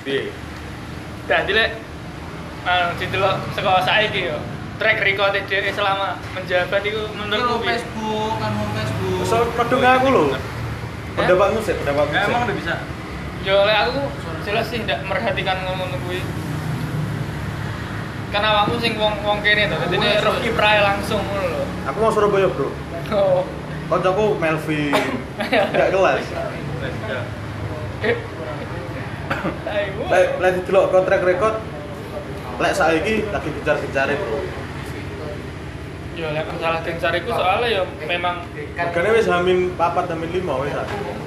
Piye? Dadi lek didelok saka saiki yo. Track record dhewe selama menjabat itu menurutku Facebook. So produk aku lho. Pendapatmu sih. Emang udah bisa. Yo lek aku jelas sih ndak merhatikan ngono kuwi. Karena awakmu sing wong kene to, dadi roh kiprahe langsung ngono lho. Aku mau Surabaya, Bro. Oh. Kancaku Melvin. Enggak kelas. Lek didelok kontrak record lek saiki lagi gencar-gencare, Bro. Yo lek masalah gencar iku soalnya yo memang Regane wis hamin 4 hamin 5 wis.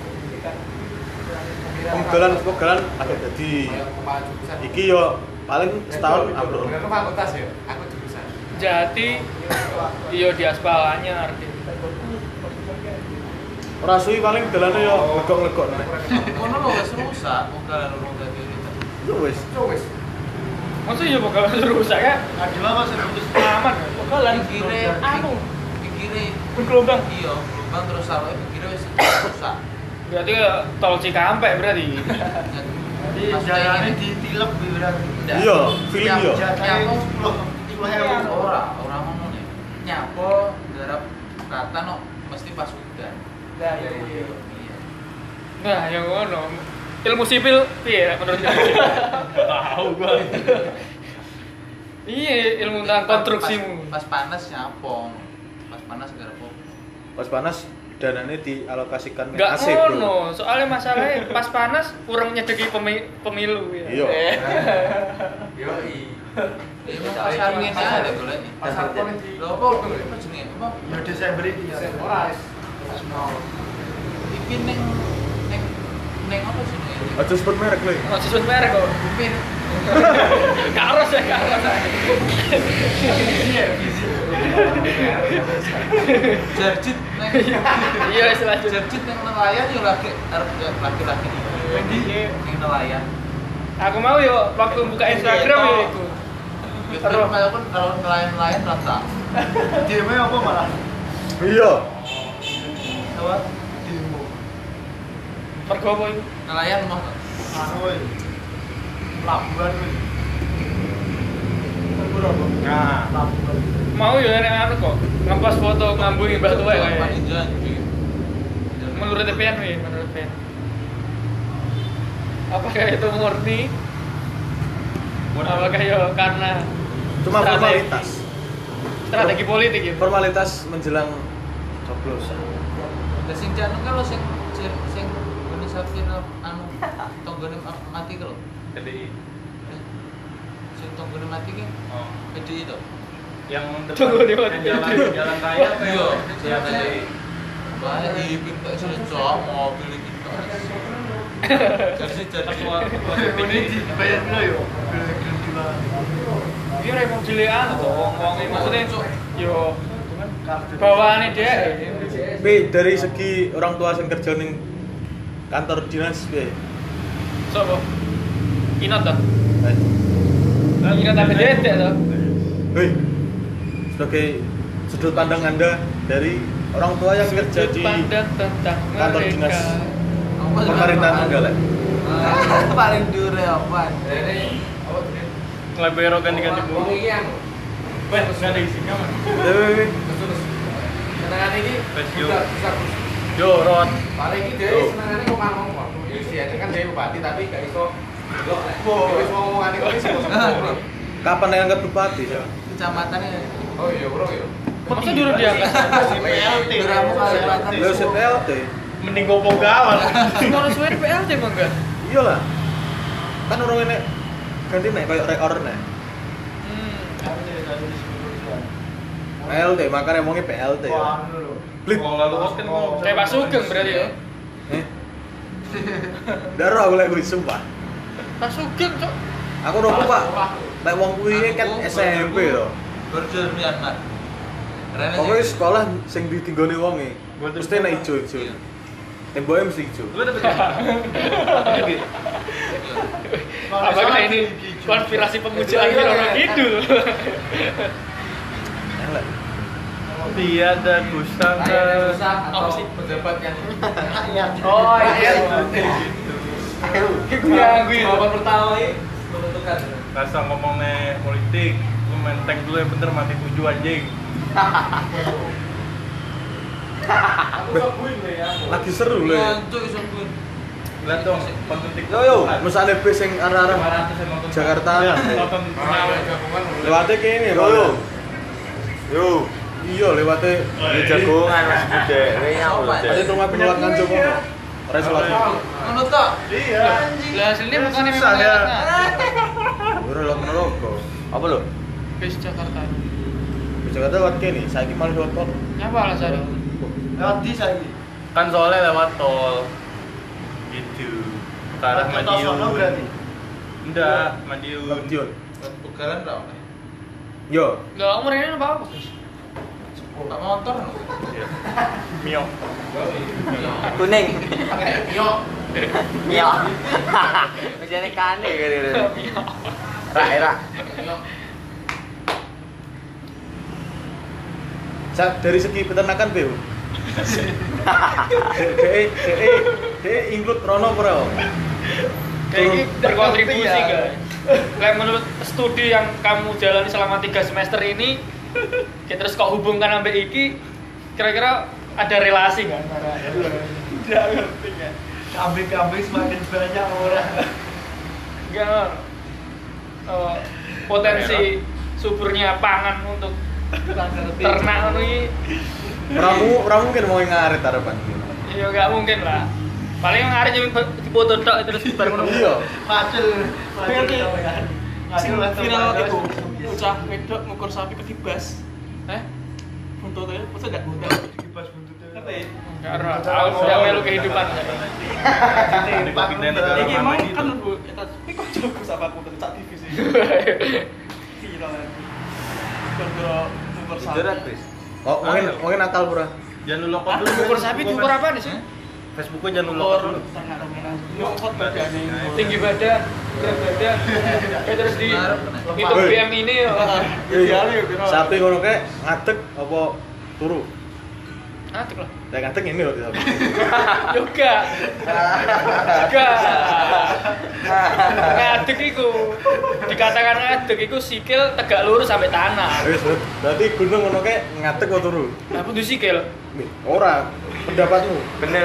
Penggalan agak dadi. Iki yo paling setahun ambruk. Fakultas ya? Aku jurusan. Jati iyo di aspal anyar. Ora suwi paling dalane yo legok-legok nek. Kono lho wis rusak, penggalan urung dadi itu. Yo wis. Maksud yo bakal rusak ya? Adila masih putus Aman. Bakalan pikire pikire bergelombang. iya, gelombang terus saroke pikire wis rusak. Berarti tol Cikampek berarti. Jadi Jalannya ditilep berarti. Iya, feeling yo. Nyapo 10.000 ora ngono nih. Nyapo garap kata no mesti pas udan. Lah iya. Nah, yang ngono. Ilmu sipil piye menurut kamu? Tahu gua. Iya, ilmu tentang konstruksimu. Pas panas nyapo. Pas panas garap apa? Pas panas danane dialokasikan Enggak AC, Bro. ngono, soalnya masalahnya pas panas kurang nyedeki pemilu ya. Iya. Yoi. Ini pasar ngene ada golek. Pasar politik. Lho apa jenenge? Apa? Ya Desember iki ya. Ora. Iki ning apa jenenge? Aja sebut merek lho. Mau sebut merek kok. Upin. Karos ya, karos. Iya, visi. Jarjit neng. Iya, istilah Jarjit neng nelayan yo lagi arep laki-laki iki. Ning nelayan. Aku mau yo waktu buka Instagram ya iku. Terus walaupun kalau nelayan rata. Demo apa malah? Iya. Apa? Demo. Mergo apa iku? Nelayan mah Anu iki. Pelabuhan iki. Nah, Pelabuhan. Mau yo nek anu kok. Ngepas foto ngambungi Mbah Tuwek kayak. Paninjan. Menurut TPN nih, menurut TPN. Apakah itu murni? Apakah yo karena cuma formalitas. strategi politik ya? Formalitas menjelang coblosan. Lah sing janu kalau sing ngene sapir anu tonggone mati kalau. PDI. Sing tonggone mati ki. Oh. PDI to. Yang Tunggu di mana? jalan raya apa Iya, ya? PDI. Bae dipintek secok mobil iki. Jadi Ini dibayar dulu yo. Gila-gila. Iki ora mau cilekan to wong-wong iki maksudnya yo bawaane dhek. Tapi dari segi orang tua sing kerja ning kantor dinas piye? Sopo? Inat to? Eh, Inat tapi dedek to. Hei, sebagai sudut pandang Anda dari orang tua yang kerja di Pandang tentang kantor mereka. dinas pemerintahan Trenggalek. paling dure apa? Lebih ganti-ganti bumbu. Wes, enggak ada isinya, Mas. Wih, Senengane iki Pesio. yo Ron. paling iki dhewe senengane kok ngomong kok. Iki kan dhewe bupati tapi gak iso delok nek. Wis ngomongane kok iso. Kapan yang angkat bupati? Ya? Kecamatannya. Oh iya, Bro ya. Masa dulu diangkat? PLT. Duramu Kalimantan. Lo PLT. Mending gopo gawan. Semua suwe PLT mah enggak? Iyalah. Kan orang ini ganti nek koyo rekor nek. PLT makanya ngomongnya PLT ya. Wah, anu lho. Blit. Kalau lalu kan ngomong Kayak Pak Sugeng berarti ya. Darah aku lagi sumpah. Pak Sugeng, Cok. Aku rokok Pak. Lek wong kuwi kan SMP lho. Border Myanmar. Rene Pokoknya sekolah sing ditinggoni wonge mesti nek ijo-ijo. Temboknya mesti ijo. Lu dapet Apakah ini konspirasi pemujaan orang Kidul? Elek. dia dan Gustaf atau Apa sih? pejabat yang Rakyat. Oh, iya. Ganggu itu. Jawaban pertama ini menentukan. Rasa ngomongnya politik, lu menteng dulu yang bener mati tujuh anjing. Aku sabuin deh ya. Lagi seru lho. Lihat dong, konten TikTok. Yo, misalnya bis yang arah-arah 500 yang nonton. Jakarta. Iya, nonton Gabungan. Lewatnya kene, Yo. Iya, lewatnya Ini jagongan Mas Bude. Ini aku lho, ada Dek. rumah penyulat nganjuk ngono. Ora salah. Menurut tak? Iya. Lah aslinya bukannya Susah, memang ya. lewat. Ora lewat Maroko. Apa lho? Bis Jakarta. Di Jakarta lewat kene, saiki malah lewat tol. Nyapa alasannya? Lewat di saya. Kan soalnya lewat tol. Gitu. Ke arah Tol sono berarti. Madiun. Enggak, Madiun. Madiun. Bukalan tak oleh. Yo, Lah umur ini apa? Tak motor. Iya. Mio. Kuning. Yo. Iya. Masih kane gitu. Rak. dari segi peternakan Beo. De include Rono Pro. Kayak berkontribusi guys. Kayak menurut studi yang kamu jalani selama 3 semester ini, terus kok hubungkan sampai iki, kira-kira ada relasi nggak? Tidak ngerti kan. Kambing-kambing semakin banyak orang. Enggak. Potensi suburnya pangan untuk ternak ini, Ramu mungkin mau ngarit harapan. ya nggak mungkin lah. Paling ngarit cuma foto tok terus baru ngono. Iya. Macul. Sing viral itu bocah wedok ngukur sapi ketibas. Buntutnya masa enggak buntut. Kibas buntutnya. Ngerti? Enggak aku tidak melu kehidupan. Iki emang kan Bu, tapi kok jogo sama aku tetap TV sih. Viral lagi. Gara-gara ngukur sapi. Jerat, Chris. Oh, mungkin akal pura. Jangan lu lokot dulu. Ngukur sapi diukur apa nih sih? Facebooknya jangan lu lokot Ngukur dulu. tanah dominan. Nyokot badannya. Tinggi badan, berat badan, kayak terus di itu Woi. BM ini ya. Iya, sapi ngono kayak ngadeg apa turu? Ngadeg lah. Lah ngadeg ini loh sapi. Juga. Ngadeg iku. Dikatakan ngadeg iku sikil tegak lurus sampai tanah. Wis, berarti gunung ngono kayak ngadeg apa turu? Lah kudu sikil. Ora, pendapatmu. Bener.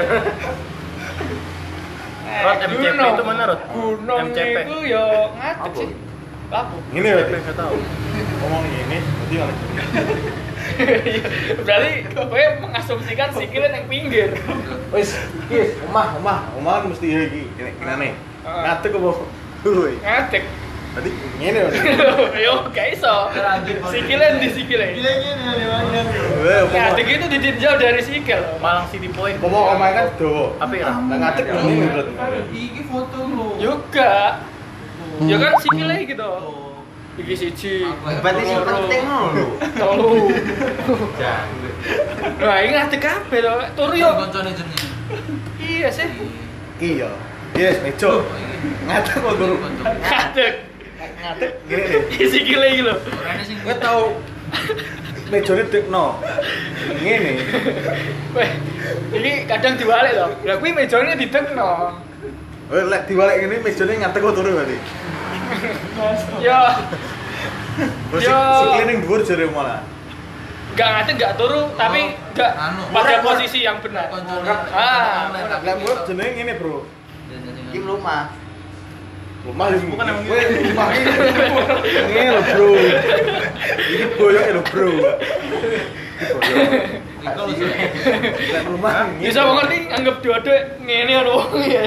Rod, MCP itu mana, Rod? Gunung MCP. itu ya ngadeg sih. Apa? Ini MCP berarti. enggak tahu. Ngomong ini, berarti malah gini. Berarti kowe mengasumsikan sikilnya yang pinggir. Wis, omah mesti iki kene. Ngadeg apa turu iki? Ngadeg. Berarti ngene lho. Yo, gak iso. Sikilnya di sikilnya. Ngadeg itu ditinjau dari sikil. Malang City Point. Ngomong omah kan dawa. Apa ya? Lah ngadeg ngene berarti. Iki foto lu. Juga. Ya kan sikilnya gitu. Iki siji. Berarti sing penting ngono. Telu. Jangan. Wah, ini ngadeg kabeh lho. Turu yo. Koncone jenenge. Iya sih. Iya. Yes, mejo. Ngadeg kok turu. Ngadeg. Ngadeg ngene deh. Iki sikile iki lho. Orangnya sing Kowe tau mejone dekno. Ngene. Weh, ini kadang diwalik loh. Lah kuwi mejane didekno. Oh, lek diwalek ngene mejone ngadeg kok turu berarti. Yo, Terus Yo. sikile ning dhuwur jare malah. enggak ngadeg enggak turu, tapi enggak Anu. pada posisi yang benar. koncone. Lek mulut jenenge ngene, Bro. Kim rumah. Rumah ini Bukan emang Weh, rumah ini. Ngene lho, Bro. Iki boyoke lho, Bro. Iki boyok. Iku lho. Lek rumah ngene. Bisa mengerti anggap dua-dua ngene ono wong ya.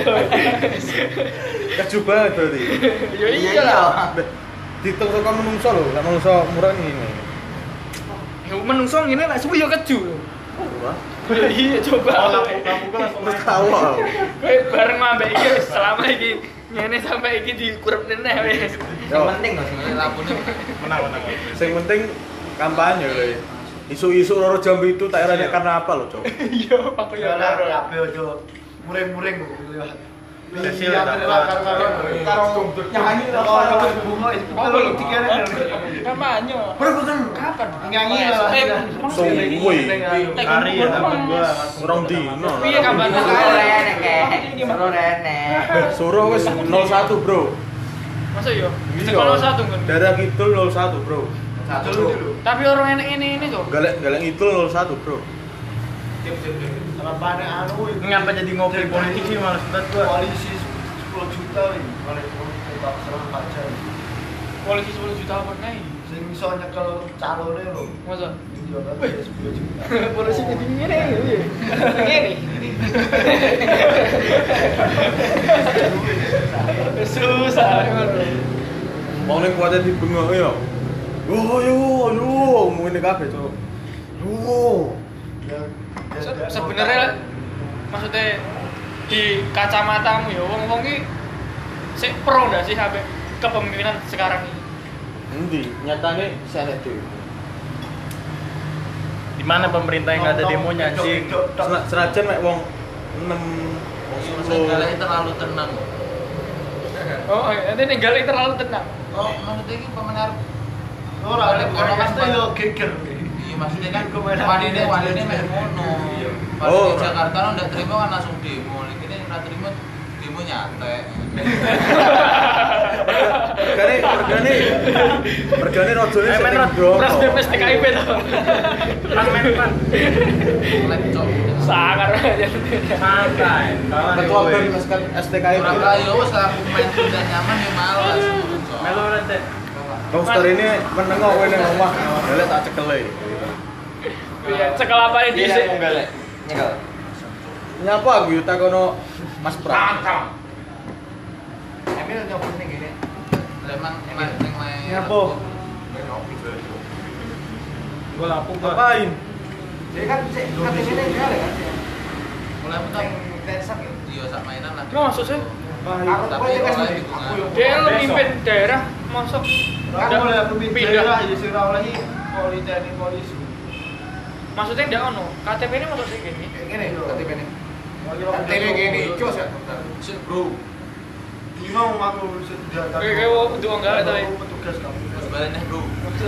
Keju banget berarti. Ya iya lah. Ditung saka menungso lho, lek menungso murah ngene. Ya menungso ngene lek suwi yo keju. Wah, Iya coba. Kamu kan langsung wis tau aku. Kowe bareng ambek iki wis selama iki ngene sampai iki dikurep neh wis. Yang penting loh sing Lampune menang. Sing penting kampanye lho. Isu-isu loro jam itu tak erane karena apa lho, Cok? Iya, apa ya? Kabeh ojo muring-muring lewat. Hasil dapat. Karo nyanyi karo bunga itu Apa lho? dikene. Kampanye. Bener-bener. kapan? Nyanyi lah. Suwi. Hari ya temen gua. Rong dino. Piye kapan? Rene kek. Seru rene. Suruh wis 01, Bro. Masa yo? Sekolah satu kan. Daerah Kidul 01, Bro. Satu dulu. Tapi orang enek ini tuh. Galek Kidul 01, Bro. Apa anu Ngapa jadi ngopi politik sih malas banget gua. polisi 10 juta ini. Oleh politik tak serang pajak. Polisi 10 juta apa nih? Sing iso nyekel calone lho. Masa? Iya kan 10 juta. Polisi jadi ngene ya. Ngene. Susah. Mau ning kuwate dibengok ya. Yo, ngene kabeh, Cuk. Yo. Sebenarnya maksudnya di kacamatamu ya wong-wong iki sik pro ndak sih sampai kepemimpinan sekarang ini? Endi? Nyatane selek dhewe. Di mana pemerintah yang nggak ada demonya anjing? Senajan mek wong 6 wong 10 terlalu tenang. Oh, nanti ninggalin terlalu tenang. Oh, maksudnya ini pemenang. Ora ada pasti yo geger. Iya, maksudnya kan wanine mek ngono. Oh, Di Jakarta lo ndak terima kan langsung demo. Ini ora terima demo nyantai. Regane rojone Men, sing Bro. Pres BPS TKIP tuh. Men. Lecok. Sangar aja. Santai. ketua BEM STKI. Ora kayo wis lah main udah nyaman ya malas. Melo nanti. Roster ini menengok kowe ning omah. Galek tak cekele. Iya, cekel apa ini dhisik? Galek. Nyekel. Nyapa aku yo takono Mas Pram. Emil nyopot ning gini. Emang ning main. Nyapa? Gua lapuk gua. Ngapain? Jadi kan cek KTP ini dia kan. Mulai putar. Yang tensak ya. Iya sak mainan lah. Masuk sih. Aku Tapi kan oleh aku yang Dia lo mimpin daerah, masuk Aku mulai pemimpin pindah. daerah ya sing ora oleh polisi. Maksudnya ndak ono. KTP ini masuk sih gini. Ngene KTP ini. KTP gini, cus ya. Sik, Bro. Di mau aku sudah Kayak untuk enggak ada. petugas kamu. Terus baliknya, Bro.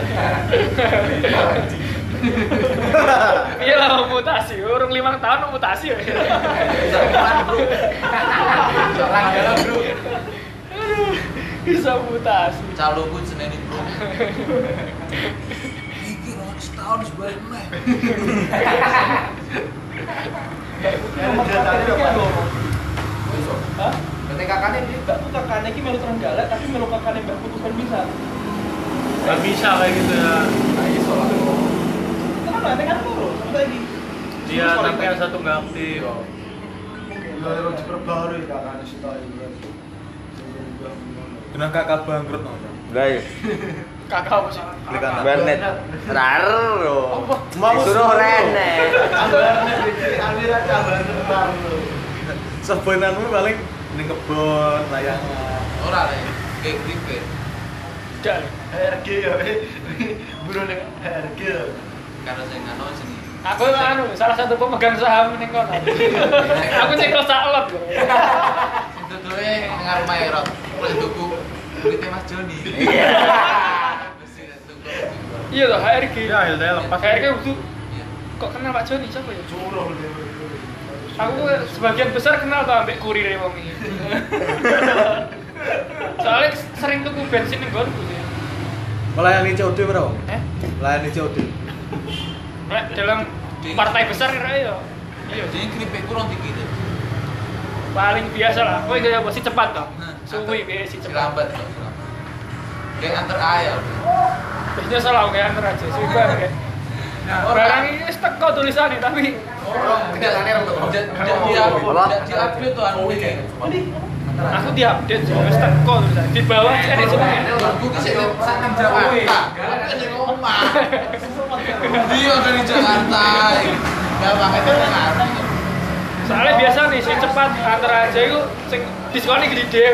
Iya lah mau mutasi, orang 5 tahun mau mutasi ya. Jangan, Bro. Orang dalam, Bro. Aduh, bisa mutasi. Calonku seneni, Bro. Iki ora setahun sebalik meneh. Hah? Berarti kakaknya ini Enggak tuh kakaknya ini melu Trenggalek tapi melu kakaknya Mbak Putusan bisa. Gak bisa kayak gitu ya. Kenapa? Nanti kan turun, sampai lagi. Dia tapi yang satu nggak aktif. Ya harus diperbarui kakaknya sih tahu. Kena kakak bangkrut no. Guys, Kakak apa sih? Klik kanan. Bernet. Raro. Mau Suruh Rene. Ambil aja benar lu. Sebenarnya paling ning kebon layangan. Ora lah. Kayak gripe. Tidak. HRG ya, buruh nih HRG. Karena saya nggak tahu sini. Aku anu salah satu pemegang saham ning kono. Aku nyekel saklot lho. Itu tuh ngaruh Mayrot. Mulai tuku kulitnya Mas Joni. Iya. Iya loh HRG. Ya, LDL lepas. HRG itu Iya. kok kenal Pak Joni siapa ya? Suruh dia. Aku sebagian besar kenal tuh ambek kurir wong iki. Soalnya sering tuku bensin ning gonku sih. Melayani COD bro. Melayani COD. Nek dalam partai besar kira ya. Iya, Jadi gripe kurang dikit. paling biasa lah. Kowe gaya apa sih cepat toh? Nah, Suwi piye si cepat. Silambat kok, silambat. Kayak antar ayam. Biasanya salah kayak antar aja. Suwi banget kayak. Barang ini wis teko tulisannya tapi kenyataannya orang tuh. Tidak diupdate tuh anu ini. aku diupdate sih wis teko tulisannya. Di bawah ada semuanya. Aku kisah sangat Jakarta. Kasih ngomong. Dia dari Jakarta. Gak pakai Jakarta. Soalnya biasa nih si cepat antar aja itu sing diskonnya gede dhewe.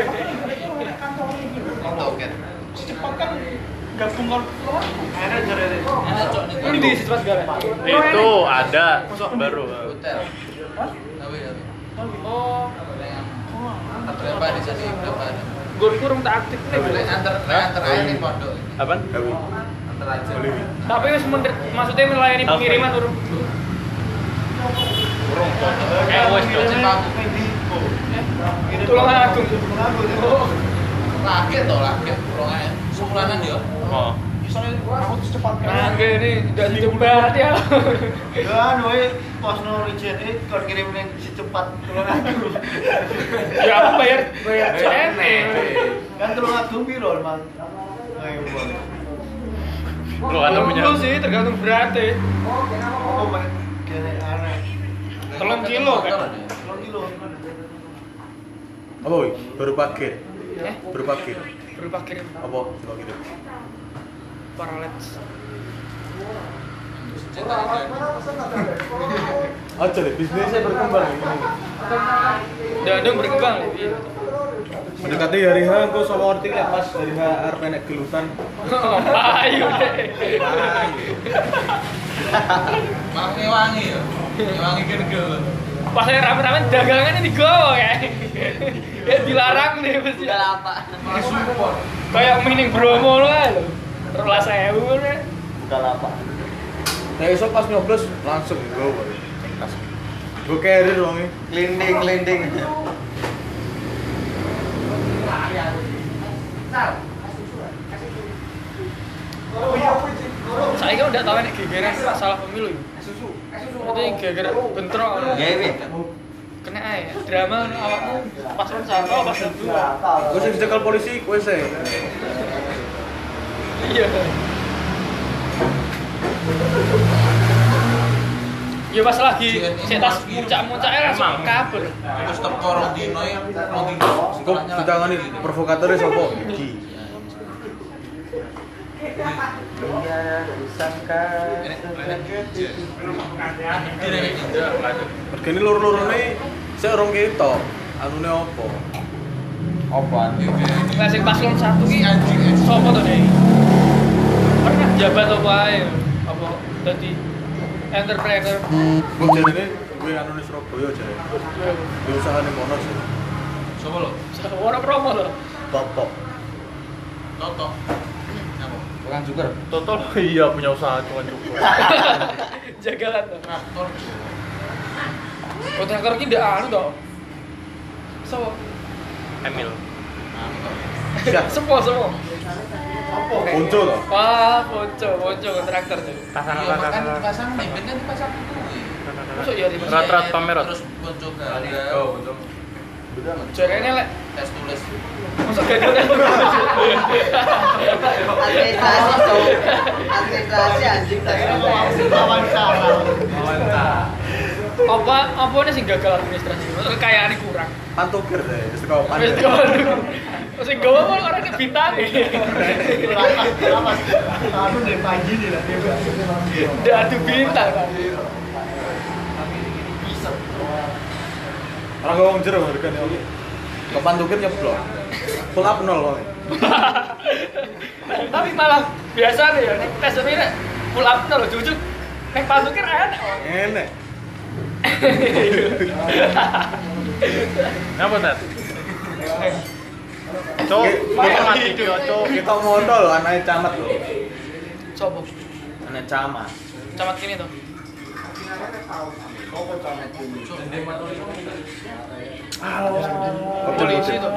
Toket. Cepat kan gabung kalau ada jare. Enak cok nih. Ini si cepat gak? Itu ada baru. Hotel. Tapi ya. Oh, Berapa di sini berapa ada? gue kurang tak aktif nih. Antar ayam di pondok. Apaan? Antar aja. Tapi wis maksudnya melayani pengiriman urung. Urung kok. Wis Tulung Agung. Lagi toh lagi. Kurangnya sepulanan ya. Oh. Misalnya aku cepat Nah, ini udah dicoba ya. kan we pas no reject kon kirim link si cepat tulung aku. Ya aku bayar CNE. Kan tulung aku piro, Mas? Ayo boleh. Lu ada punya. Lu sih tergantung beratnya. Oh, main kene aneh. 3 kilo kan. 3 kilo. Apa woi? Baru parkir. Eh, Baru parkir. berupa kirim Apa? Coba kirim. paralets. Aja deh, bisnisnya berkembang ini. Dan berkembang iya. Mendekati hari H, aku sama ngerti lah pas hari H arep enek gelutan. Ayo deh. Malah ngewangi ya. Ngewangi kergel. Pas saya rame-rame dagangannya digowo kayak. Ya dilarang nih mesti. Malah support. Kayak mining Bromo lo kan. 13.000 kan. Bukalapak. Nah, esok pas nyoblos langsung gue. Gue carrier dong ini. Linding. Saya kan udah tahu nih gegeran masalah pemilu. Berarti gegeran bentrok. Gawe. Kena aja drama awakmu paslon 1 paslon 2. Gue sih dicekal polisi, gue sih. Iya. Ya pas lagi cetas muncak-muncaknya langsung kabur. Terus teko rong dino ya, rong dino. Kok ditangani provokatornya siapa? Iki. Regane loro-lorone sik orang ketok. Anune opo? Apaan? Nah, sing paslon 1 ki sapa to deh? Pernah jabat apa ae? Apa dadi entrepreneur? Kok jarene gue anune Surabaya jare. Di usahane kono sih. Sopo lo? Ora promo lho. Top. Toto. Napa? Tukang cukur. Toto iya punya usaha cuman cukup. Jagalan to. Traktor. Kontraktor ki ndak anu to. Sopo? Emil. Siap. Semua. Ponco to. Wah, ponco kontraktor tuh. Iya, makan dipasang nih, ben kan dipasang dulu. Masuk ya di Rat-rat pameran. Terus ponco ganda. Oh, betul. jarene lek Tes tulis. masuk gagal kan. Administrasi cowok. Administrasi anjing Wawancara. Apa nih sing gagal administrasi? Maksudnya kekayaannya kurang. Pantukir deh, seko Wis pandai. gawe. Sing gawe kok ora bintang. Aku dari pagi nih lah. Ndak adu bintang kan. Ora ngomong jero regane oke. Kok pantukir nyeblok. Full up 0 kok. Tapi malah biasa nih ya nek tes ini nek full up lho jujur. Nek pantukir enak. Enek. Ngapa tat? Cok, kita mati cok. Kita modal lho anake camat lho. Sopo? Anak camat. Camat kini tuh. Polisi tuh.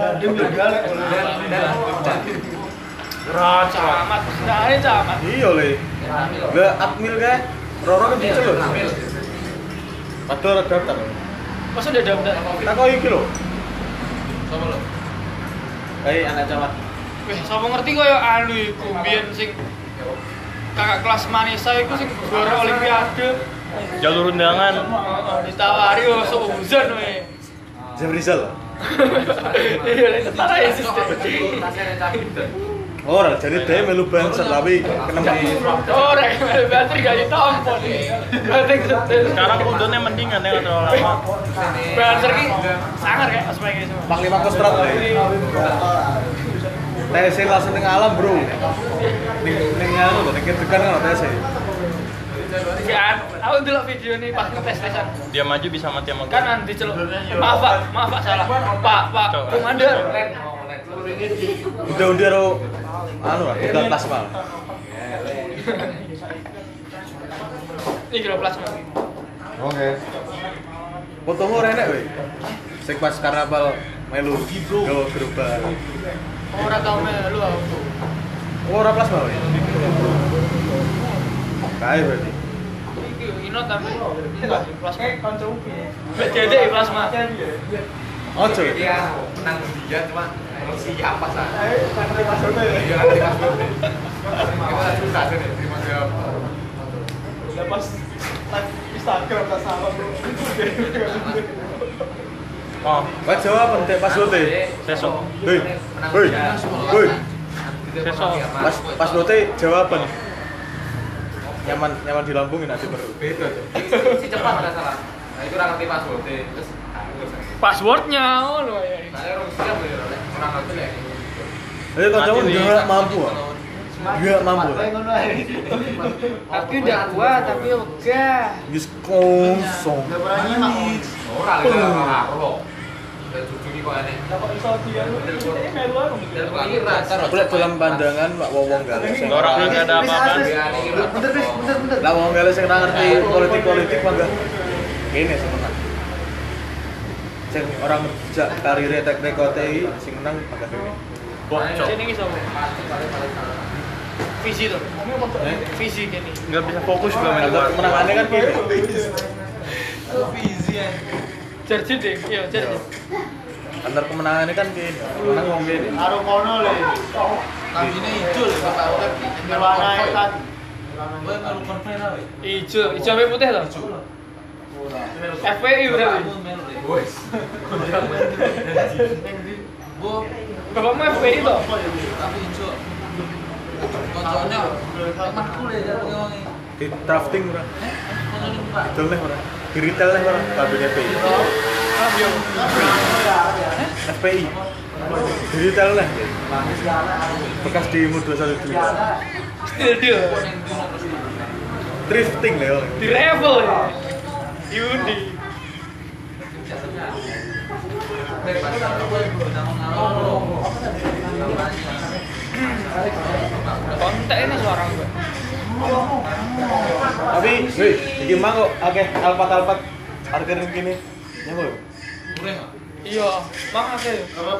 Camat, nah ini camat. Iya le. Lah admil kae. Roro kan dicel lho. Padahal ora daftar. Masa udah daftar? Tak kok iki lho. Sopo lo? Hei anak camat. Wih, sapa ngerti koyo anu iku mbiyen sing kakak kelas Manisa iku sing juara olimpiade. Jalur undangan. Ditawari yo seuzon we. Jam Rizal. Iya, setara ya sistem. Ora, jadi dia melu banser tapi kenapa? Ora, bateri gak ditampon. Bateri setel. Sekarang kudune mendingan ya terlalu lama. Banser ki sangar kayak aspek iki semua. Panglima Kostrat le. TC langsung ning alam, Bro. Ning anu to, ning tekan kan TC. Kan, aku delok video nih pas ngetes-tesan. Dia maju bisa mati sama Kan nanti celuk. Maaf Pak, salah. Pak Komandan. Udah anu lah, udah plasma. Ini kira plasma. Oke. Fotomu ora enak kowe. Sing pas karnaval melu gawa gerobak. Ora tau melu aku. Ora plasma kowe. Kae berarti. Iki ino tapi enggak plasma. Kancamu piye? Mbak Dede plasma. Ojo. Dia menang dia cuma siap pas ah. Ayo, nanti masuknya ya. Iya nanti pas dulu. Kita susah sih terima jawab. Udah pas live Instagram tak salah bro. Oh, Pas jawab entek pas lote. sesok. Hei. Hei. Hei. Sesok. Pas lote jawaban. Nyaman di lambung nanti baru. Beda tuh. Si cepat ada salah. Nah itu orang ngerti password terus Passwordnya ngono ya. saya orang siap ya orang ngerti ya. Ayo kancamu enggak mampu. Enggak mampu. Tapi udah kuat tapi ogah. Wis kosong. Udah pernah nyimak. Ora lek karo. Dan jujur kok aneh. Dapat iso dia lu ini melu aku. Aku lihat dalam pandangan Pak Wong Gales. Orang enggak ada apa-apa. Bentar. Lah Wong Gales sing ora ngerti politik mangga. Kene semenang. Sing orang kerja karirnya teknik OTI sing menang mangga dhewe. Bocok. Sini iki sapa? Visi tuh. Visi kene. Enggak bisa fokus juga main Kalau luar. kemenangannya kan kene. Jerji deh, iya jerji. Antar kemenangannya kan kene. Menang wong kene. Karo kono le. Kambine hijau lho Bapak Urip. Nirwana tadi. Kowe melu konvoy ra we? Ijo sampai putih toh? FPI berarti. Wes. Bu, Bapakmu FPI toh? tapi hijau. Koncone temanku le jare wong iki. Di drafting ora. Koncone Pak. Dol neh ora. Di retail neh ora. Kabeh FPI. FPI. Di retail neh. Bekas di Mudo 1 dulu. Still deal. Drifting lho. Di level ya. Yudi. Kontak ini suara gue. Tapi, wih, iki mah kok akeh alpat parkir kene. Nyapa lho? Kurang kok. Iya, mang akeh.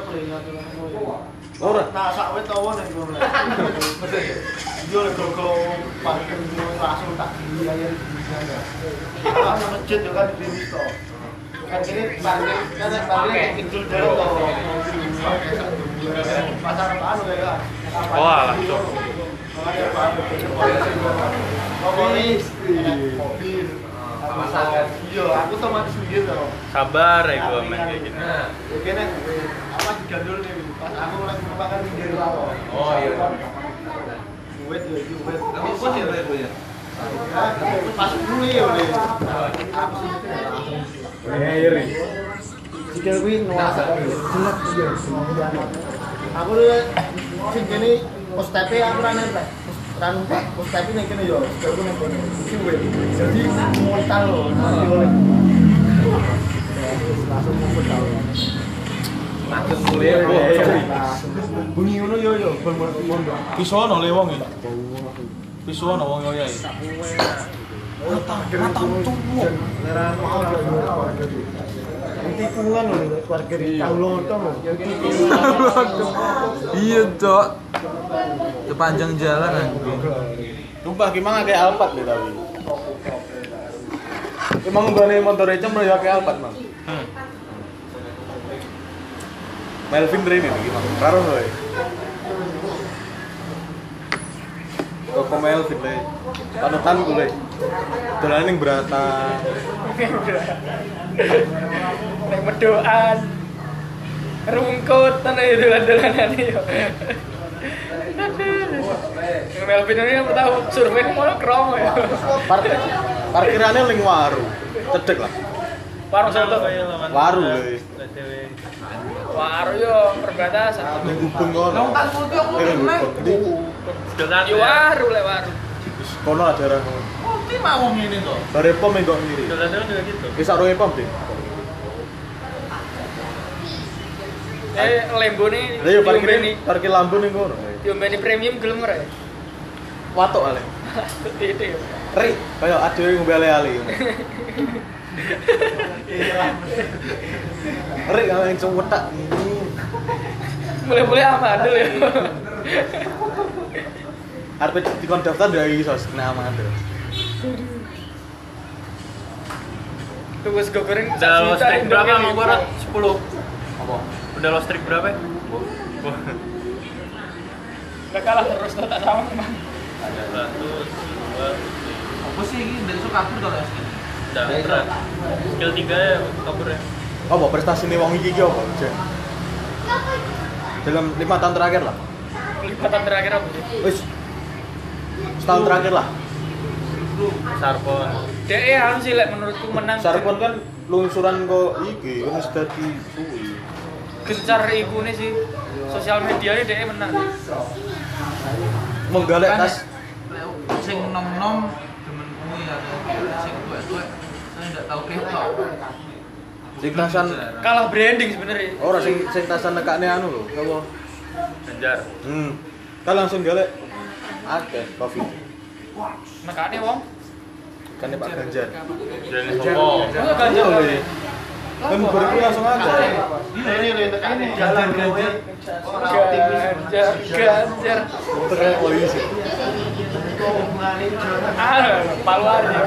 Ora. Nah, sak wit tawa nek ngono. Yo lek go parkir langsung tak dilayani di sana. Ana masjid yo kan di Misto. Kan kene parkir kecil dhewe to. Pasar anu ya. Wah, langsung. Iya, aku sama sendiri loh. Sabar ya gua main kayak gini. Kene apa digandul nih? Pas aku lagi makan pinggir laut. Oh iya. Duit ya, duit. Tapi kok ya Bu ya? Pas dulu ya udah. Ngeri. Sikil kuwi nuasa. Jelek iya. Aku sing kene pos TP aku ra nempel. Kan pos TP ning kene yo, aku ning kene. Iki weh. Jadi montal lho. Langsung mumpet tau. Makin mulai Bunyi ngono yo mondok. Pisono le wong iki. Pisono wong yo ya. Tikungan lho keluarga tahu lontong lho. Iya, Cok. Sepanjang jalan anjing. Sumpah gimana kayak Alphard deh tapi. Emang gane motor Ecem ya kayak Alphard, Mang. Melvin Dream ini gimana? Karo kowe. Koko Melvin le. Panutan ku le. Dolan ning Brata. Nek medoan. Rungkut tenan itu dolan-dolanan yo. Melvin ini yang tahu survei mau kromo ya. Parkirannya ning waru. Cedek lah. Warung satu. Waru le. Warung yo perbatasan. Ning Gubeng kono. Nang putih aku Ndi? Jalan Yo waru le waru. Kono ada daerah. Putih mah wong ngene to. Bare pom engko ngiri. Jalan juga gitu. Wis sarunge pom, Dik. Lembo nih. Lah yo parkir lambu ning kono. Diombeni premium gelem ora ya? Watuk ale. Titik. Ri, kayak adewe ngombe ale-ale. Ri kalau yang cewetak ini. Boleh-boleh amandel ya. Arep dikon daftar dari iso kena amandel. Tugas gue goreng. Udah lo strik berapa mau gua? 10. Apa? Udah lo strik berapa? Gak kalah terus tak sama emang. Ada 100, 2, Apa sih ini dari sok kabur kalau SD? udah berat. Skill 3 ya kabur ya. Apa prestasi nih wong iki apa? Jen? Dalam 5 tahun terakhir lah. Lipatan terakhir apa sih? Wis. Setahun terakhir lah. Sarpon. DE harus sih menurutku menang. Sarpon kan lungsuran kok iki kan wis dadi suwi. Gencar iku nih sih. Sosial medianya DE menang. Menggalek tas Sing nom-nom demen kuwi ya. Sing tuwek-tuwek saya enggak tahu ketok. sing tasan Kalah branding sebenarnya. ora sing tasan nekane anu lho, apa? Ganjar. Kan langsung galek akeh Covid. Nekane wong. Kan Pak Ganjar. Jadi sopo. Masa Ganjar Oleh. Kan beriku langsung akeh. Ini jalan Ganjar. Ganjar. Terus polisi. Paluan ya.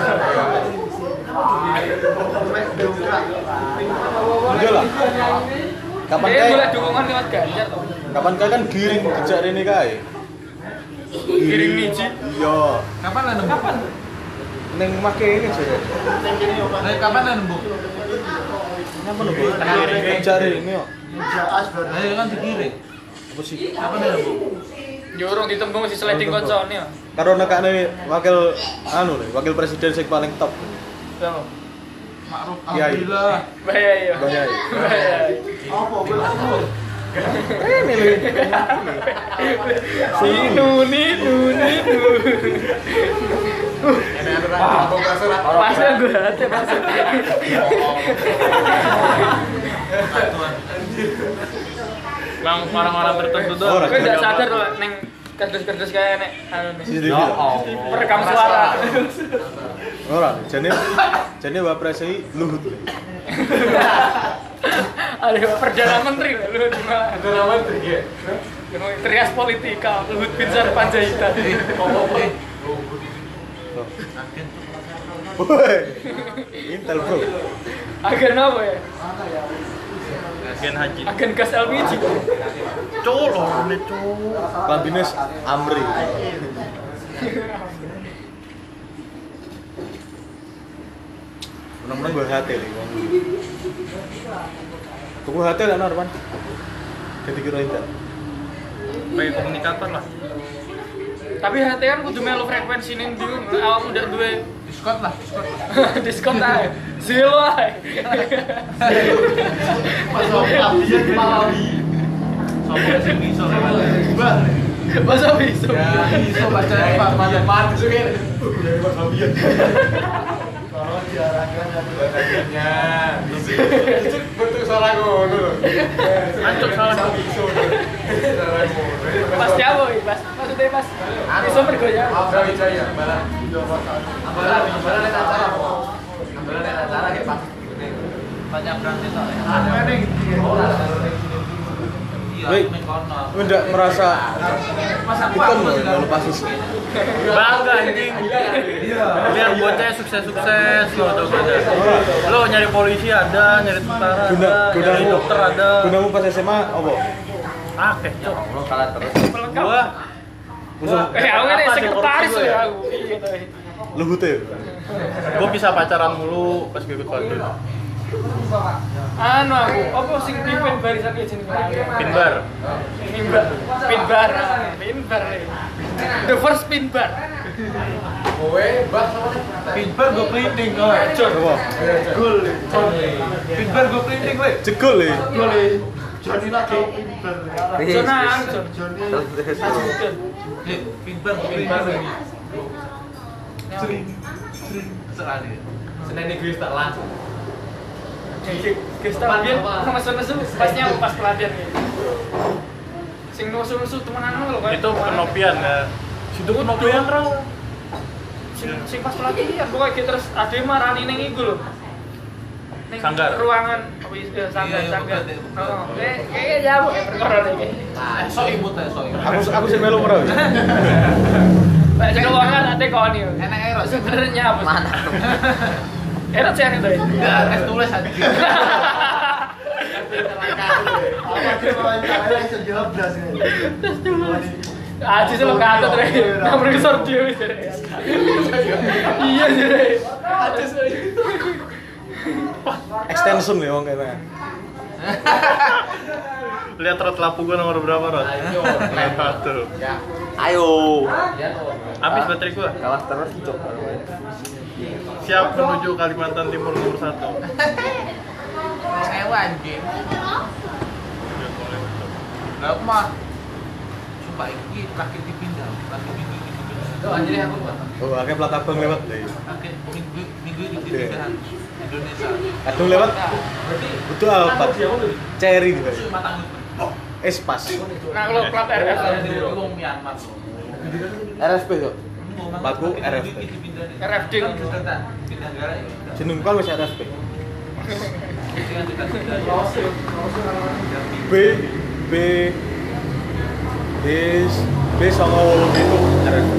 Udah lah. Kapan Dia boleh kae? dukungan lewat Ganjar toh. Kapan kae kan giring kejak rene kae. Giring niji. Iya. Kapan lah nembuk? Ning make ini aja. Nah, kapan lah nembuk? Napa lho, Bu? Kejak rene kok. Nah, ya kan digiring. Apa sih? Kapan lah nembuk? Yo urung ditembung si sliding koncone ya. Karo nekane wakil anu lho, wakil presiden sing paling top. Yo. Ma'ruf Kiai. alhamdulillah. Bahaya ya. Bahaya. Bahaya. Rene lho. Nuni. Pasnya gue hati pasnya. Bang orang-orang tertentu tuh. Orang. Gue gak sadar loh neng kardus-kardus kayak nek anu nih. CCTV. Perekam suara. Ora, jane Wapres iki Luhut. Ada perdana menteri lah lu di mana? Perdana menteri ya. Trias politika Luhut Binsar Panjaitan. Woi. Intel bro. Agen apa ya? Agen haji. Agen gas LPG. Colo, ini colo. Klambines Amri. Menang-menang gue hati nih. Gue hati lah Norman. Ganti kira Intel. Baik komunikator lah. Tapi hati kan kudu melu frekuensi ning ndi awakmu ndak duwe Diskon lah. diskon ae. Zero ae. Sopo sing iso lewat. Masa bisa? Ya, iso baca Pak Mati suke. Kalau diarahkan Bagiannya. Bentuk suara ngono lho. Ancuk salah kok. Pasti apa iki, Mas? Maksudnya Mas, iso bergoyang. Brawijaya, Balan. Ambalan nek acara apa? Ambalan nek acara kayak pas gini. Banyak berarti soalnya. Apa ning ora Iya, Woi. ning kono. Gue ndak merasa ikon loh kalau pas itu. Bangga anjing. Lihat bocah sukses-sukses lo tuh ada. Lo nyari polisi ada, nyari tentara ada, nyari dokter ada. Gunamu pas SMA apa? Akeh, cok. lo kalah terus. Gua Aku kan sekretaris ya aku. Iya toh. Luhut ya. gua bisa pacaran mulu pas gue ikut Badut. Anu aku, apa sing pimpin barisan iki jenenge? Pinbar. Pinbar. The first pinbar. Kowe mbah sama Pinbar go cleaning kowe. Apa? Gol. Pinbar go cleaning kowe. Jegol ya. Joni lagi pinter. Jonang. Pinbar go cleaning. Sering sekali. Senin iki wis tak langsung. Guys, tapi nesu-nesu pasnya pas pelatihan gitu. Sing nesu-nesu temenan lo kan. Itu penopian ya. Situ penopian terus. sing pas pelatihan pokoknya gitu terus ade marani ning iku lho. Ning Sanggar. ruangan apa ya sanggar. Oh, kayak ya bu perkara iki. Sok imut ya, sok imut. Aku sing melu ora. Pak jaga ruangan ate kon yo. Enak erot. Sebenarnya apa? Mana? Erot sih itu. Es tulis aja. Apa wawancara iso jawab blas kan. Aji sih lo kata tuh, nomor kesor dia gitu. Iya sih. Extension ya wong kene. Lihat rot lapu gua nomor berapa rot? Lihat tuh. Ayo. Habis baterai gua. Kalah terus cok. Siap menuju Kalimantan Timur nomor 1. Sewa anjing. Lah mah. Sumpah iki terakhir dipindah. Oh anjir aku buat. Oh, akeh plat abang lewat lho. Oke, minggu ini dipindahan Indonesia. Aduh lewat. Butuh Alphard. Cherry gitu. Espas. Nah kalau plat RF Wong Myanmar. RFP kok. Platku RFP. RFD kan. Pindah negara ya. Jeneng kan wis RFP. B sama itu RFP.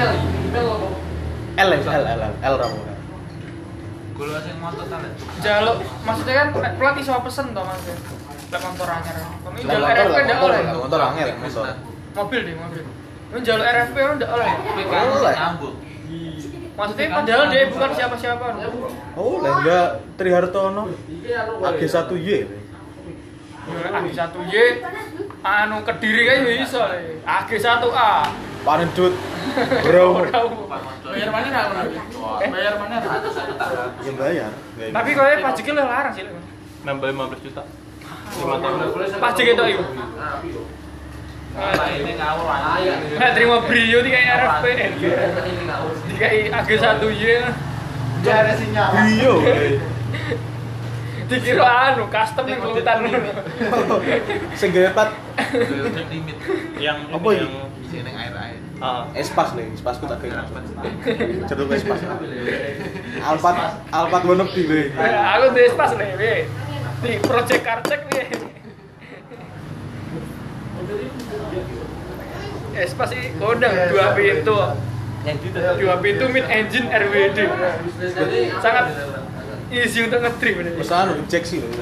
L ramu. Gula sing motor ta lek. Jaluk maksudnya kan plat iso pesen toh Mas. Lek motor anyar. Kami jaluk RFP ndak oleh. Motor angel, motor. Mobil deh, mobil. Ini jaluk RFP ndak oleh. Oleh. Nyambut. Maksudnya padahal dia bukan siapa-siapa. Oh, lah enggak Trihartono. AG1Y. AG1Y anu Kediri kan bisa le. AG1A. Panedut. Bro. Bayar mana ra? Bayar mana? Ya bayar. Tapi kowe pajaknya lo larang sih. Nambah 15 juta. 5 tahun. Pajak itu iku. Nah, ini ngawur aja. Nah, terima Brio di kayak RFP. Di kayak AG1Y. Jare sinyal. Iya. Dikira anu custom yang kelutan. Sing gawe plat Limit. Yang Apa ini ini? yang Isi ning air-air. Espas nih, Espasku tak kira. Jeruk Espas. Alphard wono di we. Aku di pas le, we. Di project karcek we. Espas sih kodang 2 pintu. 2 pintu mid engine RWD. Sangat easy untuk nge-trim ini. Pesan injeksi lho.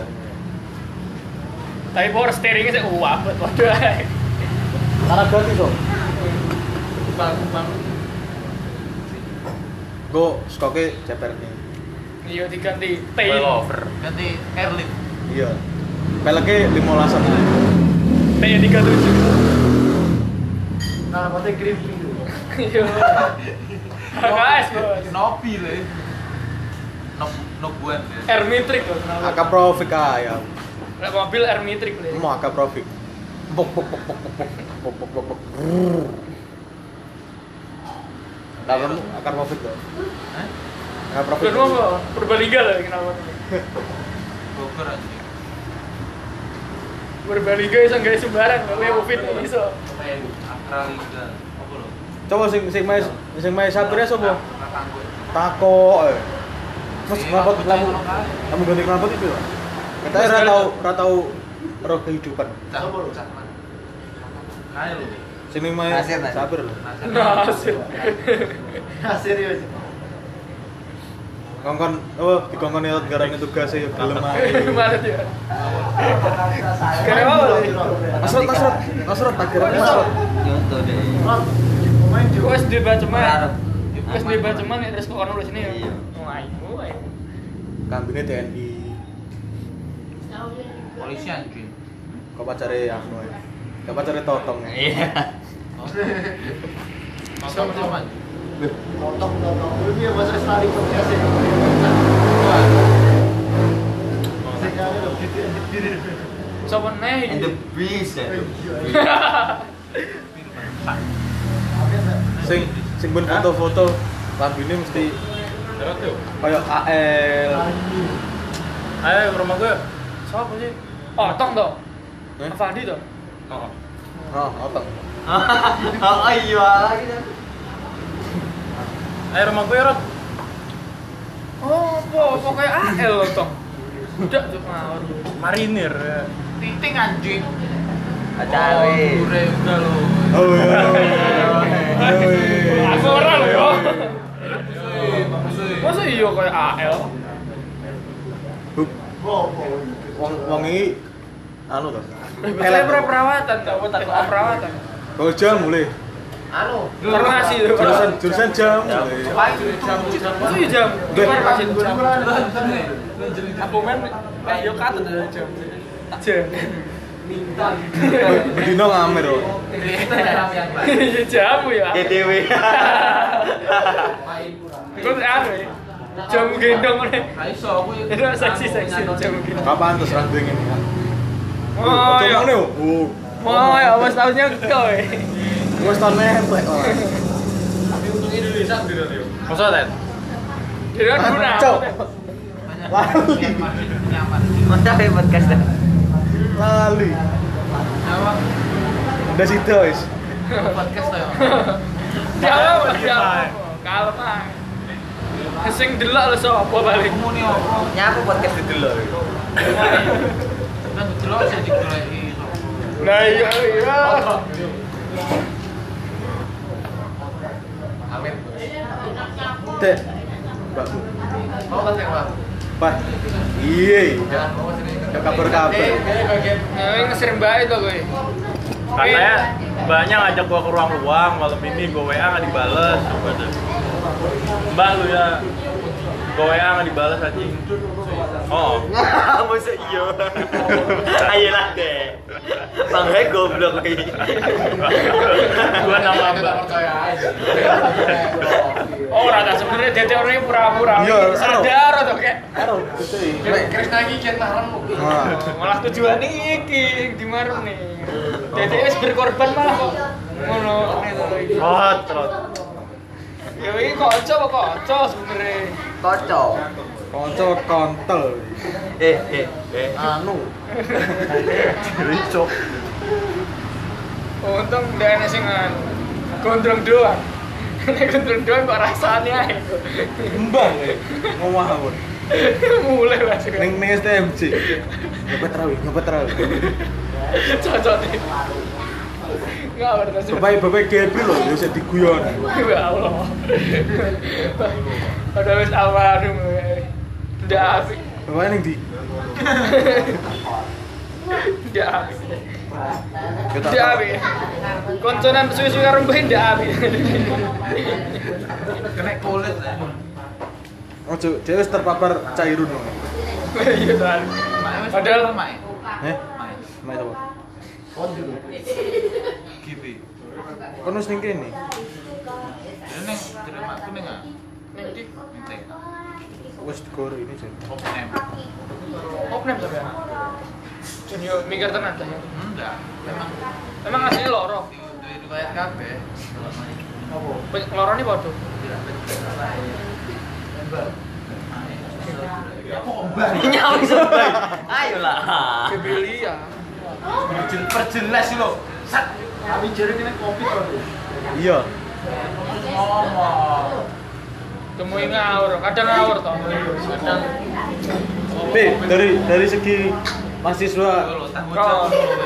Tapi power steeringnya sih wabet waduh. Karena gratis kok. Go skoke cepernya. Iya diganti coilover. Ganti airlift. Iya. Peleknya 15-an. T37. Nah, mate gripping. Iya. Guys, bos. Nopi le. Nobuan ya. Airmetric kok. AK Profik ya. Lek mobil Airmetric le. Mau AK Profik. Pok. Lawan AK Profik kok. Hah? AK Profik. Udah apa? Purbalingga lah kenapa? Bogor aja. Purbalingga iso gawe sembarang, gawe Ufit iso. Akraliga. Apa lho? Coba sing main sapire sapa? Kakangku. Tako. Mas knalpot kamu ganti knalpot itu. Katanya ora tau roh kehidupan. Cak lho, cak man. Kae lho. Sing main sapir lho. Nasir. Nah, serius. Kongkon dikongkon lewat garane tugas ya gelem ae. Mana dia? Kenapa? Masrot tak kira masrot. Main juga. Wes di Baceman. Wes di Baceman ya terus kok ono di sini ya. Ayo. Kambingnya TNI. Polisi anjing. Kok pacare anu ae. Kok pacare totong. Iya. Sama-sama. Potong. Ini ya bahasa Australia biasa. Sekali lo diri. Sopo neh? beast ya. Sing ben foto-foto lambine mesti kayak AL. Ayo ke rumah gue. Sopo sih? Otong toh. Eh? Fadi toh. Oh. Oh, otong. Oh iya lagi kan. Ayo rumah gue Rod. Oh, pokoknya AL loh toh. Udah cuk ngawur. Marinir ya. Titing anjing. Acari. Udah lo. Oh iya. Aku ora lho yo. Masa iya kayak AL? Wong iki anu to. Saya perawatan, perawatan. Oh jam mulai. Anu, Farmasi lho. Jurusan jam. paling jam. Masa iya jam? Farmasi. Aku men yo katut jam. Jam. Bedino ngamer kok. Iya jamu ya. ETW. Kok anu ya? Jamu gendong nih. Iso aku Itu seksi jamu gendong. Kapan terus ra duwe ngene kan? Oh Coba ya. ngene yo. Oh. Oh ya, wes tahunnya kau ya. Wes tahun nempel. Masa Ted? Kira guna. Cok. Lali. Mantap ya podcast. Lali. Apa? Udah situ wis. Podcast to ya. Kalau kalau mah. Sing delok lho sapa balik. Muni opo? Nyapa podcast itu dulu. Kan delok sing digoleki. Nah iya iya. Amin. Dek. Mbak. Mau kan Pak? Pak. Iya. Jangan mau sini. Kabar-kabar. Bagian Nah, ngeser mbak itu gue. Katanya mbaknya ngajak gua ke ruang-ruang malam ini, gua WA nggak dibales. Coba deh. Mbak lu ya, gua WA nggak dibales anjing. Oh, Masa iya. Ayolah deh. Bang Hek goblok iki. gua nama mbak. percaya aja. Oh, rata sebenarnya dia teorinya pura-pura. Iya, Sadar atau kayak. Karo betul. Krisna iki jen marem. Nah. Malah tujuan iki di marem nih. Jadi wis berkorban malah kok ngono itu. Rod. Ya iki kanca sebenarnya. Kocok. Konco kontol. Anu. Ricok. Untung dia enak sing gondrong doang. Nek gondrong doang kok rasane ae. Mbang ya. Ngomong awon. Mulai langsung. Ning STMJ. Ngepet rawi. Cocok nih. Enggak berarti. Bapak GP lho, ya bisa diguyon. Ya Allah. Padahal wis almarhum. Ndak apik. Bapak ning di. Ndak apik. Ndak apik. Konconan suwi-suwi karo mbah ndak apik. Kena kulit. Ojo, dia wis terpapar cairun. Iya kan. Padahal Mak. Heh? Mai to. Gitu. Kon wis ning kene. Ini terima aku nih nggak? ning ndi? Nih. Wis digor ini sih. Open. Opnem sampean. Yo mikir tenan ta. Enggak. Emang asli loro. Di riwayat kabeh. Lorone padha. Nyawa sebaik. Ayolah. Kebelia. Perjelas sih lo. Sat. Kami jadi kena kopi kok. Iya. Ngomong. Temui ngawur, kadang ngawur toh. Kadang Dari segi mahasiswa kau.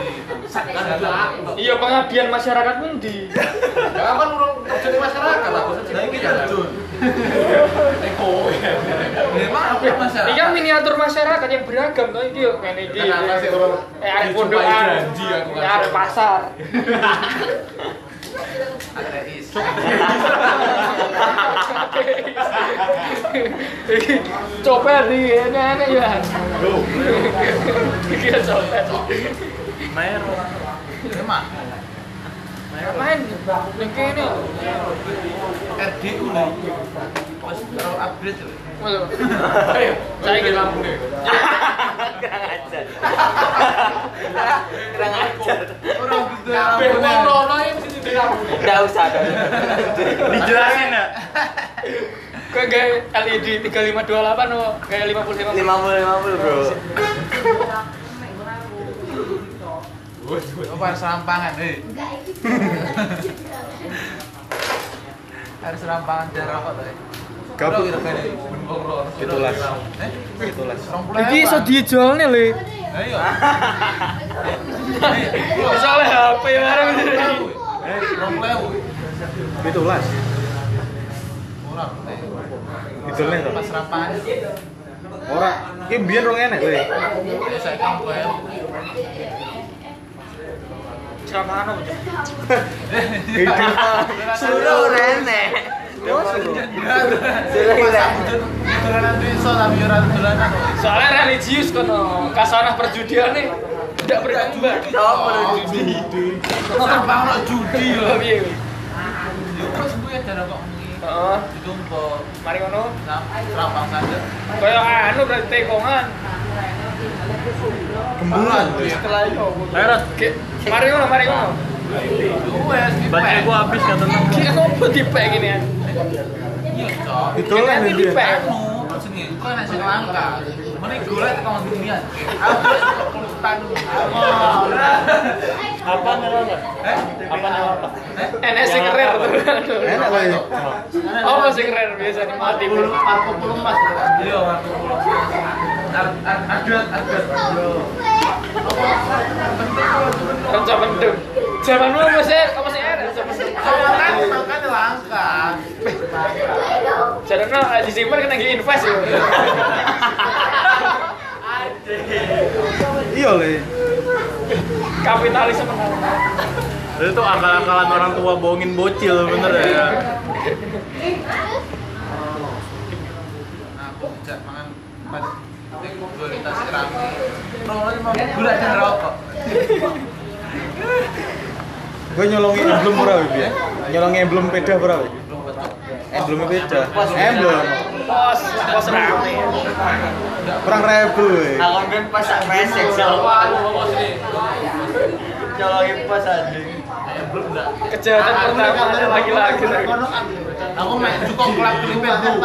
Iya pengabdian masyarakat pun di. Ya kan urung kerja di masyarakat aku saja. Iki terjun. Eko. Memang apa masyarakat? Ini kan miniatur masyarakat yang beragam toh iki yo kene iki. Kenapa sih orang Arek pondokan, janji aku kan. arek pasar. Ateis. Copet nih, enak ya. Kira copet. Mero. Memang. Ngapain? Ning kene. RDU nih. Pas karo upgrade tuh. Waduh. Ayo, saya ke lampu nih. Kurang ajar. Orang gitu. Wong rono yang sini di lampu. Enggak usah. Dijelasin ya. Kok kayak LED 3528 oh, kayak 50 50 bro. Apa serampangan, Harus rampangan dan rokok tadi. Gabut. Itulah. Itulah. Iki iso dijualne lho. Ayo. Soalnya HP bareng iki. Itulah. Ora. Itulah to. Pas rampangan. Ora, iki mbiyen rong enek kowe. Ya saya kan kowe. Sama anu. Suruh rene. Dolanan iso tapi ora dolanan. Soalnya religius kono, kasanah perjudian nih tidak berkembang. Judi. Tambah ono judi lho. Piye? Terus kuwi ada rokok ngene. Heeh. Ditumpuk. Mari ngono. Rampang saja. Kaya anu berarti tekongan. Gembulan. Ayo Rat, Mari ngono, mari ngono. Wes baterai gua habis katanya. Ki opo dipek gini ya? Iya, Cok. Itulah Ini dia. dipek. Anu, jenenge kok nek sing langka. Mending golek tekan dunia. Aku kelutan. Apa nyewa? Apa nyewa? Enek sing rare tuh. Enak kowe. Apa sing rare biasa mati. 40 Mas. Iya, 40. Adat. Kanca pendem. Zamanmu masih enak. Makanya langka. Jarana disimpan kena invest ya. Iya le. Kapitalisme Itu akal-akalan orang tua bohongin bocil bener ya. Aku jak mangan kualitas rame. Rolnya mau gula dan rokok. Gue nyolongi emblem ora iki ya. Nyolongi emblem peda ora iki. Emblem peda. Emblem. pos rame. Kurang rebel we. Aku kan pas mesek siapa nyolongin pas anjing. Kejahatan pertama lagi-lagi. Aku main cukup klub klipet bro.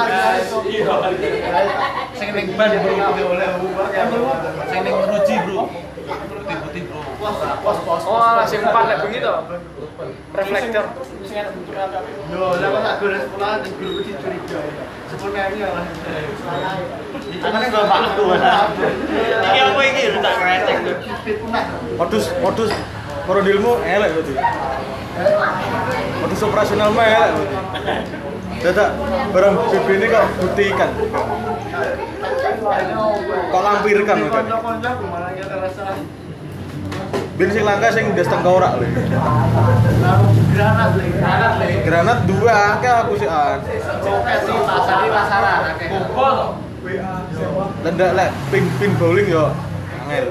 Sing ning ban bro oleh sing ning Ruji bro. Putih-putih bro. Oh, sing empat lek bengi to. Reflektor. Sing ana benturan kabeh. Yo, lah kok tak gores sekolah di guru iki curiga. Sepuluh kali ya lah. Makanya gua waktu. Iki apa iki lu tak kresek tuh. Modus korodilmu elek berarti. Modus operasional mah elek berarti. Dadak barang BB ini kok buktikan. Kok lampirkan kan? Kanca-kanca malah ya terasa Ben sing langka sing ndas tengkorak lho. granat le. Granat dua akeh aku sih an. Roket sih pasar di pasaran akeh. Bobol to. Lendak lek pin bowling yo angel.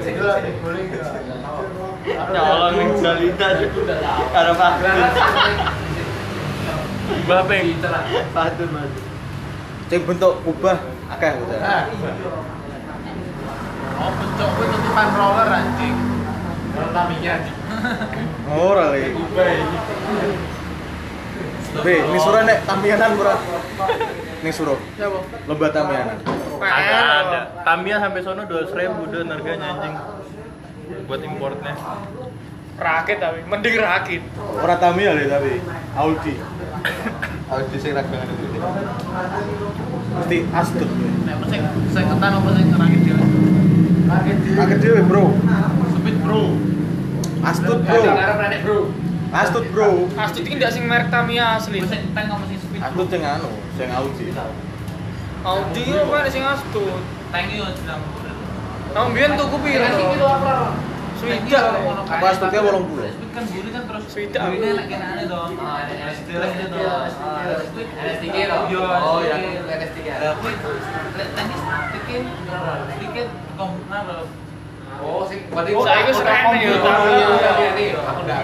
Nyolongin salita karo Pak. Mbah Peng. Patun Mas. Sing bentuk kubah akeh gitu. Oh, bencok kuwi tutupan roller anjing. Taminya anjing. Ora le. Be, ini surah nek tamianan ora. Ning suruh. Lomba tamianan. Ada. Tamiya sampai sono 200.000 dan harganya anjing. Buat importnya. Rakit tapi mending rakit. Ora Tamiya le tapi Audi. Audi sing ragangan itu. Mesti astut. Nek sing ketan apa sing ngerangin dhewe? Akeh dhewe, Bro. Speed bro. Astut, Bro. Astut, Bro. Astut iki ndak sing merek Tamiya asli. Sing tank apa sing speed? Astut sing anu, sing Audi. Audi apa sing astut? Tank yo jeneng. Nang mbiyen tuku piro? Swidak. Apa astutnya 80? Speed kan buri kan terus Swidak. burine nek kenane to. STLS itu. NS3 Yo. Oh ya, NS3. Lah kuwi lek tenis bikin kom napa? Oh, sing berarti Saiki wis rene yo Tamiya. Tamiya. Aku ndak.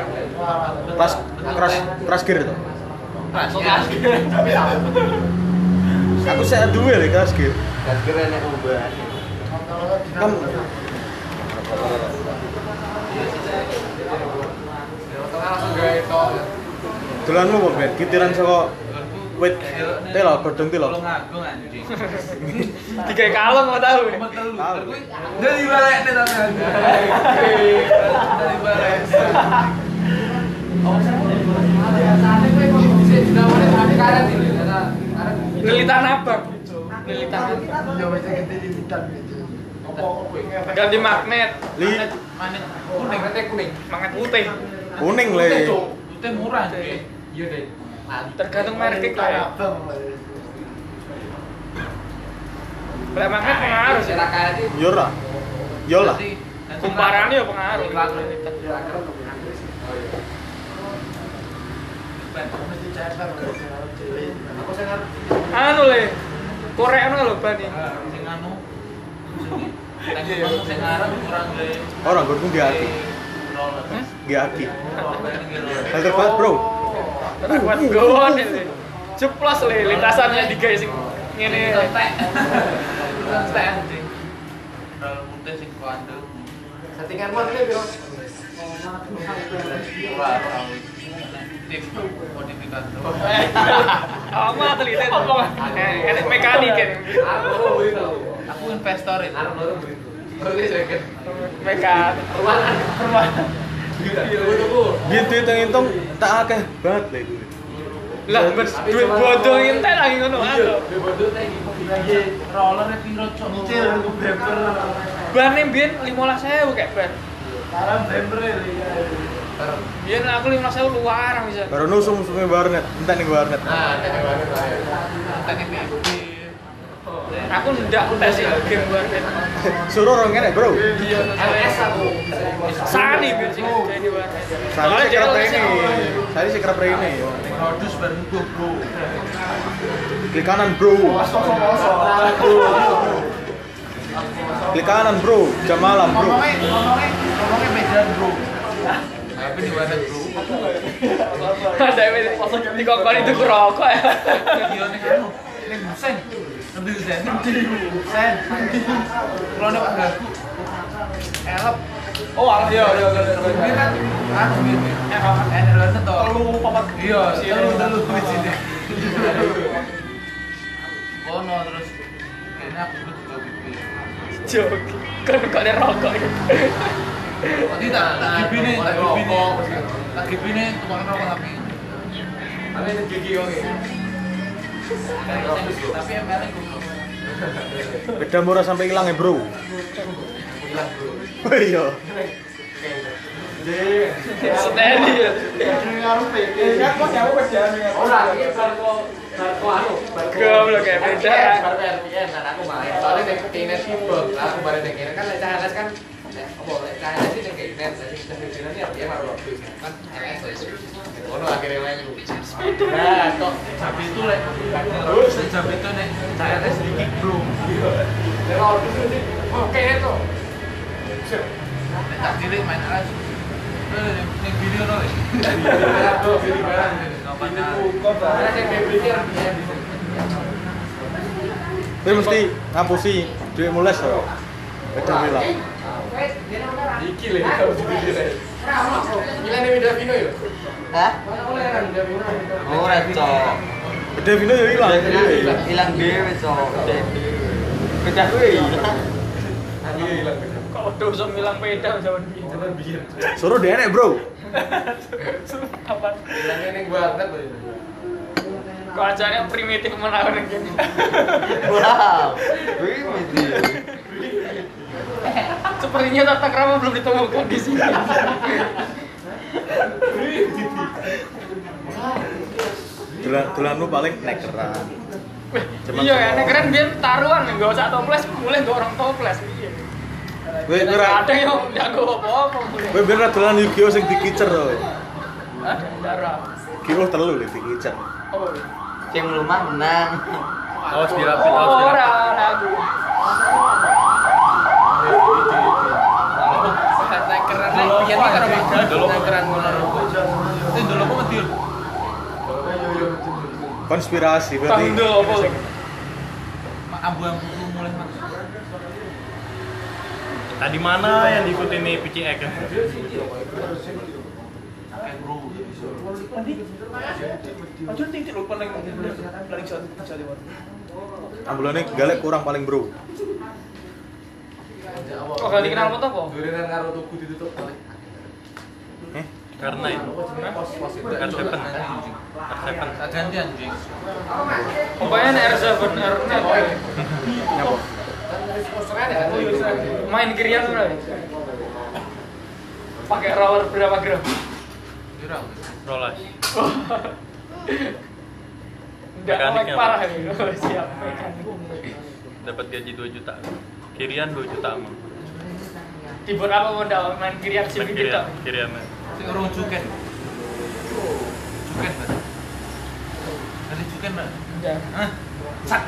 Crash gear to. Keras. Aku saya duwe le crash gear. Gas kira nek ubah. Kan Langsung gawe to. dolanmu kok Ben, kitiran saka wit telo godhong telo. Tolong agung anjing. Digawe kalong kok tau. Tahu. Dari balik nih tapi dari balik. Lilitan abang. Lilitan abang. Ganti magnet. Magnet kuning. Magnet putih. Kuning le. Putih murah. Iya deh. Tergantung merek ya. Lek magnet pengaruh sih. Yora. Yola. Kumparannya ya pengaruh. Anu le. Korekno lho ban iki. Sing anu. Sing arep kurang le. Orang gue Giaki. Giaki. Filter banget bro. Kuat gowon le. Ceplos le lintasannya digawe sing ngene. Santai anjing. Dal putih sing kandel. Settingan mon ki piro? Wah, tip modifikasi. Ama teliti ngomong. Enek mekanik kan. Aku investor itu. Mekanik. Perumahan. Biar duit yang hitung tak akeh banget le duit. Lah duit bodoh entek lagi ngono anu. Roller piro cok. Kecil aku bemper. Bane mbiyen 15.000 kayak ban. Sekarang bemper ya. Biyen aku 15.000 luar bisa. Baru nusung-nusungnya warnet. Entah nih warnet. Nah, ada banget lah ya. Tadi PB. Aku ndak tes sih game warnet. Suruh orang kene bro. MS aku. Sani biyen sing jadi warnet. Saya sih kerap ini. Saya sih kerap ini. Produs baru bro. Klik kanan bro. Klik kanan bro. Jam malam bro. Ngomongnya medan bro. Tapi di mana bro? Ada di kokon itu rokok ya. Iya nih anu. Nih busen. Lebih busen. Busen. Kalau nih Pak Gagu. Elep. Oh, iya. Ini kan anu gitu. Energi tuh. Telu papat. Iya, telu di sini. Kono terus kayaknya aku juga pipi. Joki. Kan kok ada rokok ya. Tadi tak gibine tukang rokok tapi. Tapi ini gigi oke. Tapi ML-nya goblok. Beda murah sampai hilang ya bro. Hilang bro. Oh iya. Steady ya. Ora, iki barco anu, Goblok kayak beda. Barco RPN, nah aku main. Soalnya nek kene timbel, aku bare nek kene kan lek CHS kan apa lek CHS iki nek kene, jadi kita ini RPN baru kan LS. Ono akhirnya main. Nah, kok Tapi itu lek terus jam itu nek CRS dikit bro. lek order sih oke itu. Nek tak cilik main alas. Ning video no. Aduh, pilih barang. Karena saya beli RPN. Tapi mesti ngapusi duit mules loh. Beda bilang. Iki lho harus dipilih. Gila nih Vida Vino ya? Hah? Oleh kan Vida Vino. Ora, Cok. Beda Vino ya hilang. Hilang dhewe, Cok. Beda kuwi. Iya hilang. Kok udah usah bilang peda zaman biyen. Suruh dia enek bro. Apa? Hilangnya ning warnet loh ini. Kok ajane primitif menawa ning kene. Wow. Wih, mesti. Sepertinya tata krama belum ditemukan di sini. Dolanmu paling nekeran. Iya ya, nek keren biyen taruhan enggak usah toples, mulai enggak orang toples. Iya. Weh kira Ada yang enggak apa-apa mulai. weh bener dolan Yu-Gi-Oh sing dikicer loh. Ada darah. Yu-Gi-Oh telu lho dikicer. Oh. Sing lumah menang. Awas dirapit, awas dirapit. Ora lagu. Nek keren nek biyen iki karo nek keren ngono. Itu dulu aku mati. Konspirasi berarti. Tanggal apa? Ambu-ambu mulai mas. Tadi mana yang diikutin nih PCX kan? Kayak bro. Aja titik lho paling jauh. Ambulannya galak kurang paling bro. Kok gak dikenal foto kok? Durian karo tuku ditutup balik. Karena itu R7 Tak ganti anjing. Pokoknya R7 Nyapa? main kirian bro. Pakai roller berapa gram? Kira. Rolas. Enggak Mekaniknya parah apa? ini. Siap mekanik. Dapat gaji 2 juta. Kirian 2 juta mah. Dibuat apa modal main kirian sih Main kita. kirian. Sing urung cuken. Cuken, Mas. Nanti cuken, Mas. Udah. Hah? Sak.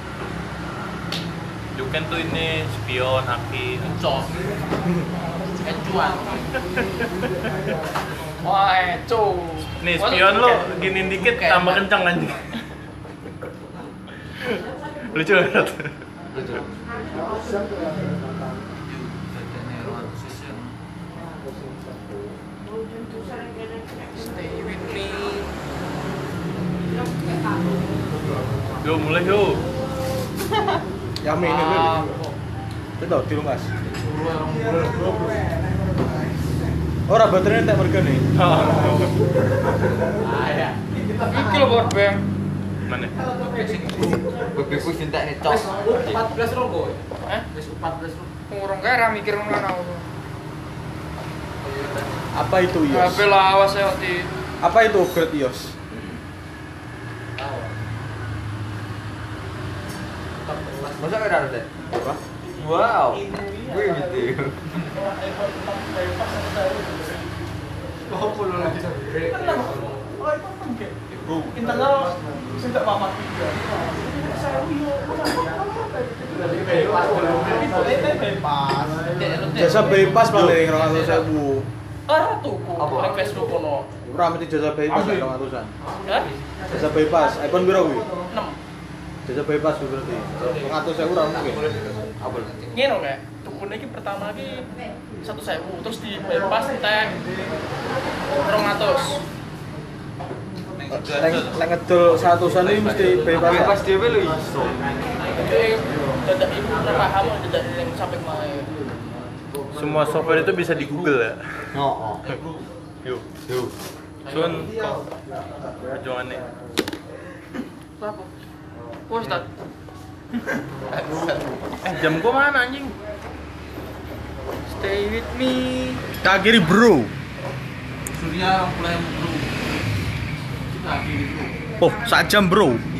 Juken tuh ini spion, haki. Cos. Kecuan. Wah, eco. Nih spion lo giniin dikit Kayak tambah apa? kencang anjing. Lucu banget. Lucu. Dadane ruang sisi. Stay with me. Yo mulai yo. Yami ini dulu. Itu di rumah. Ora baterainya tak merga nih. Iki lho power bank. Mana? Bebeku cinta nih cok. 14 rokok. Eh? Wis 14 rokok. Ngurung kae ra mikir ngono aku. Apa itu iOS? HP lawas ya di Apa itu upgrade iOS? Masa ada ada? Apa? Wow. Gue gitu. Internal sing tak papat. Jasa bypass paling 200.000. ora tuku Apa? nang Facebook kono. Ora mesti jasa bypass 200-an. Hah? Jasa bypass iPhone piro kuwi? 6. Jasa bypass kuwi berarti. 200.000 ora mungkin. Apa? Ngene kayak tukune iki pertama iki 1.000 terus di bypass teh 200. Lek ngedol 100-an iki mesti bypass. Bebas dhewe lho iso. Jadi dadak ibu paham dadak yang sampai mae. Semua software itu bisa di Google ya. Oh. Yuk. Sun perjuangannya. Apa? Wes tak. Jam gua mana anjing? Stay with me. Tak kiri, Bro. Surya mulai bro. Kita akhiri bro. Oh, 1 jam, Bro.